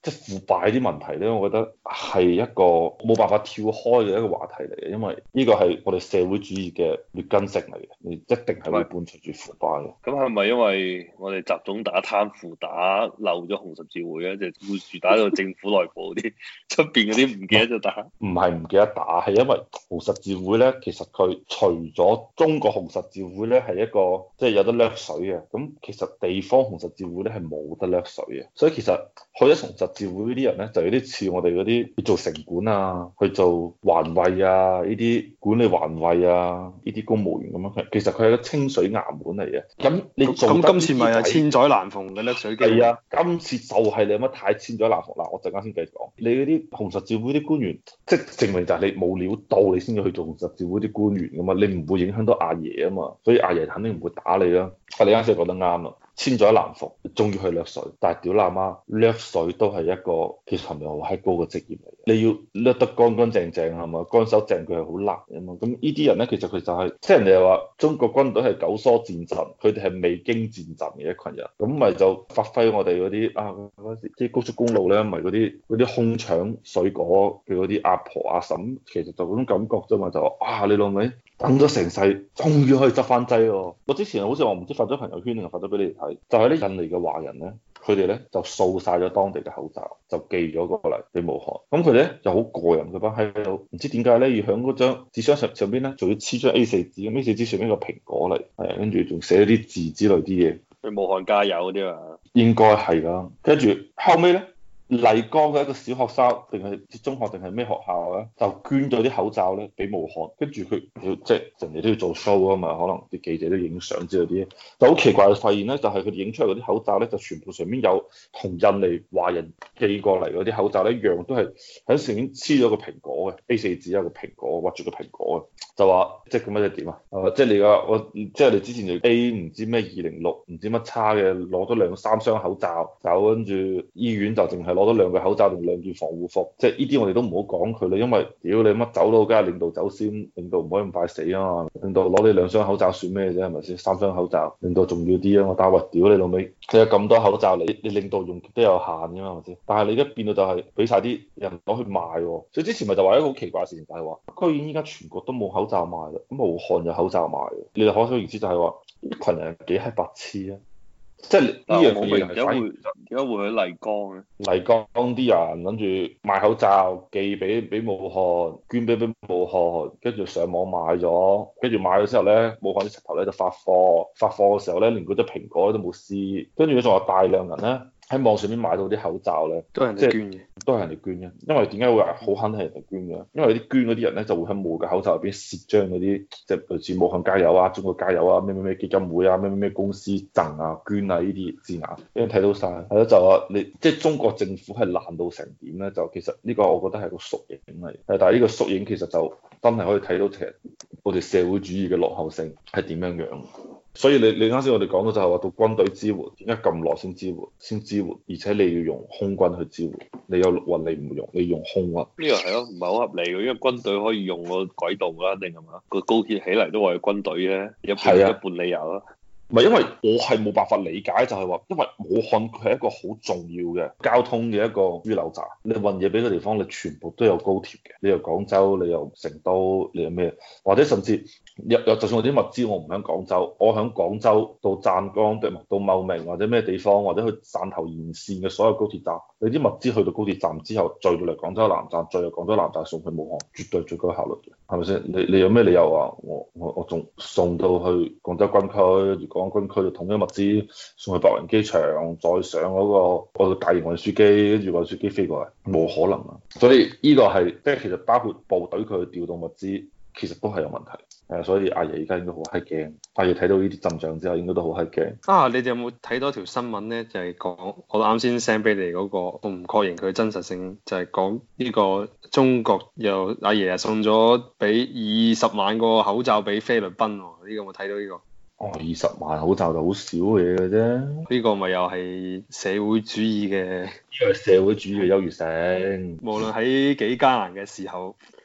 即係腐敗啲問題咧，我覺得係一個冇辦法跳開嘅一個話題嚟嘅，因為呢個係我哋社會主義嘅劣根性嚟嘅，你一定係會伴隨住腐敗嘅。 咁係咪因為我哋集中打貪腐打漏咗紅十字會啊？即係護住打到政府內部啲，出邊嗰啲唔記得咗打。 唔係唔記得打，係因為紅十字會咧，其實佢除咗中國紅十字會咧係一個即係有得掠水嘅，咁其實地方紅十字會咧係冇得掠水嘅，所以其實去咗紅十字會呢啲人咧就有啲似我哋嗰啲去做城管啊，去做環衛啊，呢啲管理環衛啊，呢啲公務員咁樣，其實佢係一個清水衙門嚟嘅。咁你做得咁今次咪係千載難逢嘅掠水機？ 係啊，今次就係你乜太千載難逢啦！我陣間先繼續講，你嗰啲紅十字會啲官員，即係證明就係你冇料到，你先至去做紅十字會啲官員噶嘛，你唔會影響到阿爺啊嘛，所以阿爺肯定唔會打你啦。啊，你啱先講得啱啦。千載難逢，終於去掠水，但係屌喇媽，掠水都係一個其實係咪好閪高嘅職業嚟嘅？你要掠得乾乾淨淨係嘛，乾手淨腳係好難嘅嘛。咁呢啲人咧，其實佢就係、是、即係人哋又話中國軍隊係九疏戰陣，佢哋係未經戰陣嘅一群人，咁咪就發揮我哋嗰啲啊嗰時啲高速公路咧，咪嗰啲空搶水果嘅嗰啲阿婆阿嬸，其實就嗰種感覺啫嘛，就啊你老味。等咗成世，終於可以執翻劑喎！我之前好似話唔知發咗朋友圈定係發咗俾你哋睇，就係啲印尼嘅華人咧，佢哋咧就掃晒咗當地嘅口罩，就寄咗過嚟俾武漢。咁佢哋咧就好過癮，佢班喺度唔知點解咧要喺嗰張紙箱上邊咧，仲要黐張 A4 紙，咁 A4 紙上邊個蘋果嚟，係跟住仲寫咗啲字之類啲嘢， 去武漢加油嗰啲啊！ 應該係啦。跟住後尾咧。麗江嘅一個小學生定係中學定係咩學校咧，就捐咗啲口罩咧俾武漢，跟住佢即係人哋都要做 show 啊嘛，可能啲記者都影相之類啲，就好奇怪嘅發現咧，就係佢哋影出嚟嗰啲口罩咧，就全部上面有同印尼華人寄過嚟嗰啲口罩咧一樣，都係喺上面黐咗個蘋果嘅 A4 紙，有個蘋果畫住個蘋果嘅，就話即係咁樣即係點啊？即係你個我即係你之前就 A 唔知咩206唔知乜叉嘅攞咗2、3箱口罩走，跟住醫院就淨係攞咗2個口罩同2件防護服，即係呢啲我哋都唔好講佢啦，因為屌你乜走佬，梗係領導走先，領導唔可以咁快死啊嘛，領導攞你2箱口罩算咩啫，係咪先？3箱口罩，領導重要啲啊嘛，但係話屌你老味，佢有咁多口罩，你領導用都有限噶嘛，係咪先？但係你而家變到就係俾晒啲人攞去賣，所以之前咪就話一個好奇怪嘅事情，就係話居然依家全國都冇口罩賣啦，咁武漢有口罩賣，你哋可想而知就係話呢群人幾閪白痴啊！即係呢樣我嘢明點解會去麗江咧？ 麗江啲人諗住買口罩寄俾武漢，捐俾武漢，跟住上網買咗，跟住買咗之後咧，武漢啲柒頭咧就發貨，發貨嘅時候咧連嗰隻蘋果都冇撕，跟住仲有大量人咧喺網上面買到啲口罩咧， 都係人哋捐嘅， 都係人哋捐嘅。因為點解會話好肯定係人哋捐嘅？因為啲捐嗰啲人咧就會喺武嘅口罩入邊攝張嗰啲，即係類似武漢加油啊、中國加油啊、咩咩咩基金會啊、咩咩咩公司贈啊、捐啊呢啲字眼，俾人睇到晒。係咯，就話你即係中國政府係爛到成點咧？就其實呢個我覺得係個縮影嚟，但係呢個縮影其實就真係可以睇到其實我哋社會主義嘅落後性係點樣樣。所以你啱先我哋講到就係話到軍隊支援，點解咁耐先支援，而且你要用空軍去支援，你有陸運你唔用，你用空運， 呢個係咯，唔係好合理嘅，因為軍隊可以用個軌道啦，定係嘛？個高鐵起嚟都為軍隊嘅，一半理由啦。 唔係因為我係冇辦法理解，就係話，因為武漢佢係一個好重要嘅交通嘅一個樞紐站，你運嘢俾個地方，你全部都有高鐵嘅，你由廣州，你由成都，你有咩，或者甚至就算我啲物資我唔喺廣州，我喺廣州到湛江到茂名或者咩地方，或者去汕頭沿線嘅所有高鐵站，你啲物資去到高鐵站之後，載到嚟廣州南站，再由廣州南站送去武漢，絕對最高效率嘅，係咪先？你有咩理由話我仲送到去廣州軍區？如果軍區就統一物資送去白雲機場，再上嗰個大型運輸機，跟住運輸機飛過嚟，冇可能啊！所以呢個係即係其實包括部隊佢去調動物資，其實都係有問題。所以阿爺而家應該好閪驚，阿爺睇到呢啲陣仗之後，應該都好閪驚。 啊！你哋有冇睇到條新聞咧？就係講我啱先 send 俾你嗰個，我唔確認佢真實性，就係講呢個中國又阿爺送咗俾20萬個口罩俾菲律賓喎。呢個有冇睇到呢個？ 哦，20萬口罩就好少嘢嘅啫。 呢個咪又係社會主義嘅， 呢個係社會主義嘅優越性。 無論喺幾艱難嘅時候，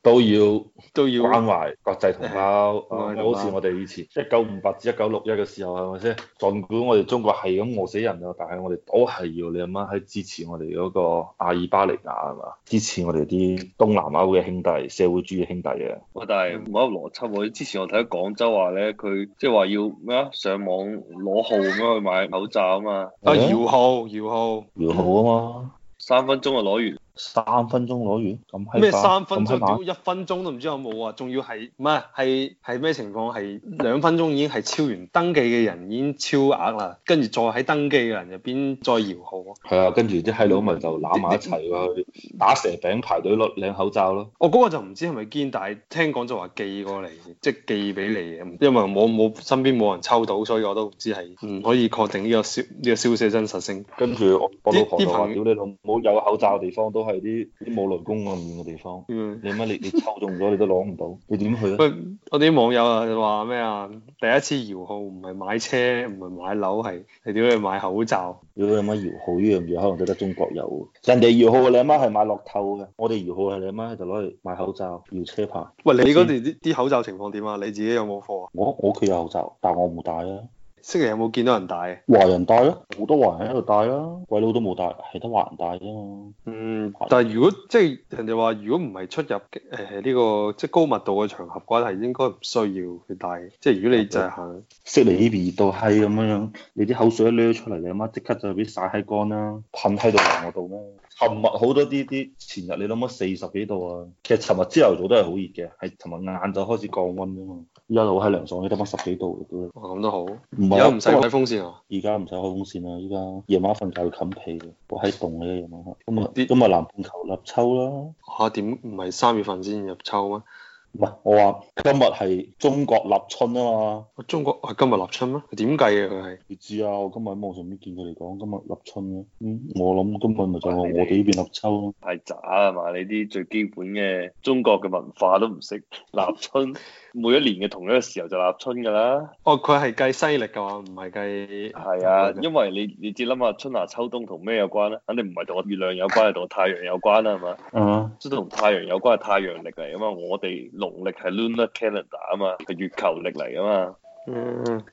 都要都要關懷國際同胞， 關懷同胞好似我哋以前1958至1961嘅時候係咪先？儘管我哋中國係咁餓死人啊，但係我哋都係要你阿媽喺支持我哋嗰個阿爾巴尼亞係嘛？支持我哋啲東南歐嘅兄弟，社會主義兄弟嘅。 喂，但係冇一個邏輯喎。之前我睇廣州話咧，佢即係話要咩啊？上網攞號咁樣去買口罩啊嘛。 啊搖號搖號搖號啊嘛 3分鐘就攞完。 ，3分鐘攞完咁閪咩快 3分鐘？ 咁閪慢屌1分鐘都唔知有冇啊！仲要係唔係咩情況？係2分鐘已經係超完登記嘅人已經超額啦，跟住再喺登記嘅人入邊再搖號。 係啊，跟住啲閪佬咪就攬埋一齊去打蛇餅排隊領口罩咯。 我嗰個就唔知係咪堅，但係聽講就話寄過嚟，即係寄俾你嘅。因為我身邊冇人抽到，所以我都唔知係唔可以確定呢個消息真實性。 跟住我老婆就話： 啲屌你老母，有口罩嘅地方都係啲冇雷公咁遠嘅地方。你乜你抽中咗你都攞唔到，你點去啊？ 喂，我啲網友啊話咩啊？第一次搖號唔係買車，唔係買樓，係點去買口罩？ 屌你阿媽搖號呢樣嘢可能得中國有，人哋搖號你阿媽係買樂透嘅，我哋搖號係你阿媽就攞嚟買口罩、搖車牌。 喂，你嗰邊啲口罩情況點啊？你自己有冇貨啊？ 我屋企有口罩，但我冇戴啊。 星期有冇見到人戴？ 華人戴啊，好多華人喺度戴啦，鬼佬都冇戴，係得華人戴啫嘛。 但係如果即係人哋話，如果唔係出入呢個即係高密度嘅場合嘅話，係應該唔需要去戴。即係如果你就係行悉尼呢邊熱到閪咁樣，你啲口水一掠出嚟，你阿媽即刻就俾曬閪乾啦，噴喺度嚟我度咩？尋日好多啲前日你諗下40幾度啊，其實尋日朝頭早都係好熱嘅，係尋日晏晝開始降溫啫嘛。依家好閪涼爽，你得翻10幾度嘅都。 咁都好。 唔係而家唔使開風扇啊？ 而家唔使開風扇啦，依家夜晚瞓覺要冚被嘅，好閪凍嘅夜晚黑。 啲今日南半球立秋啦。 嚇點唔係3月份先入秋咩？ 唔係，我話今日係中國立春啊嘛。 中國係今日立春咩？點計嘅佢係？ 你知啊，我今日喺網上面見佢哋講今日立春嘅。我諗今日咪就係我哋呢邊立秋咯。 太渣啊嘛！你啲最基本嘅中國嘅文化都唔識立春，每一年嘅同一個時候就立春㗎啦。 哦，佢係計西歷㗎嘛，唔係計。 係啊，因為你只諗下春夏秋冬同咩有關咧？肯定唔係同個月亮有關，係同個太陽有關啦，係嘛？即係同太陽有關係太陽曆嚟啊嘛，我哋農曆係 lunar calendar 啊嘛，係月球曆嚟啊嘛。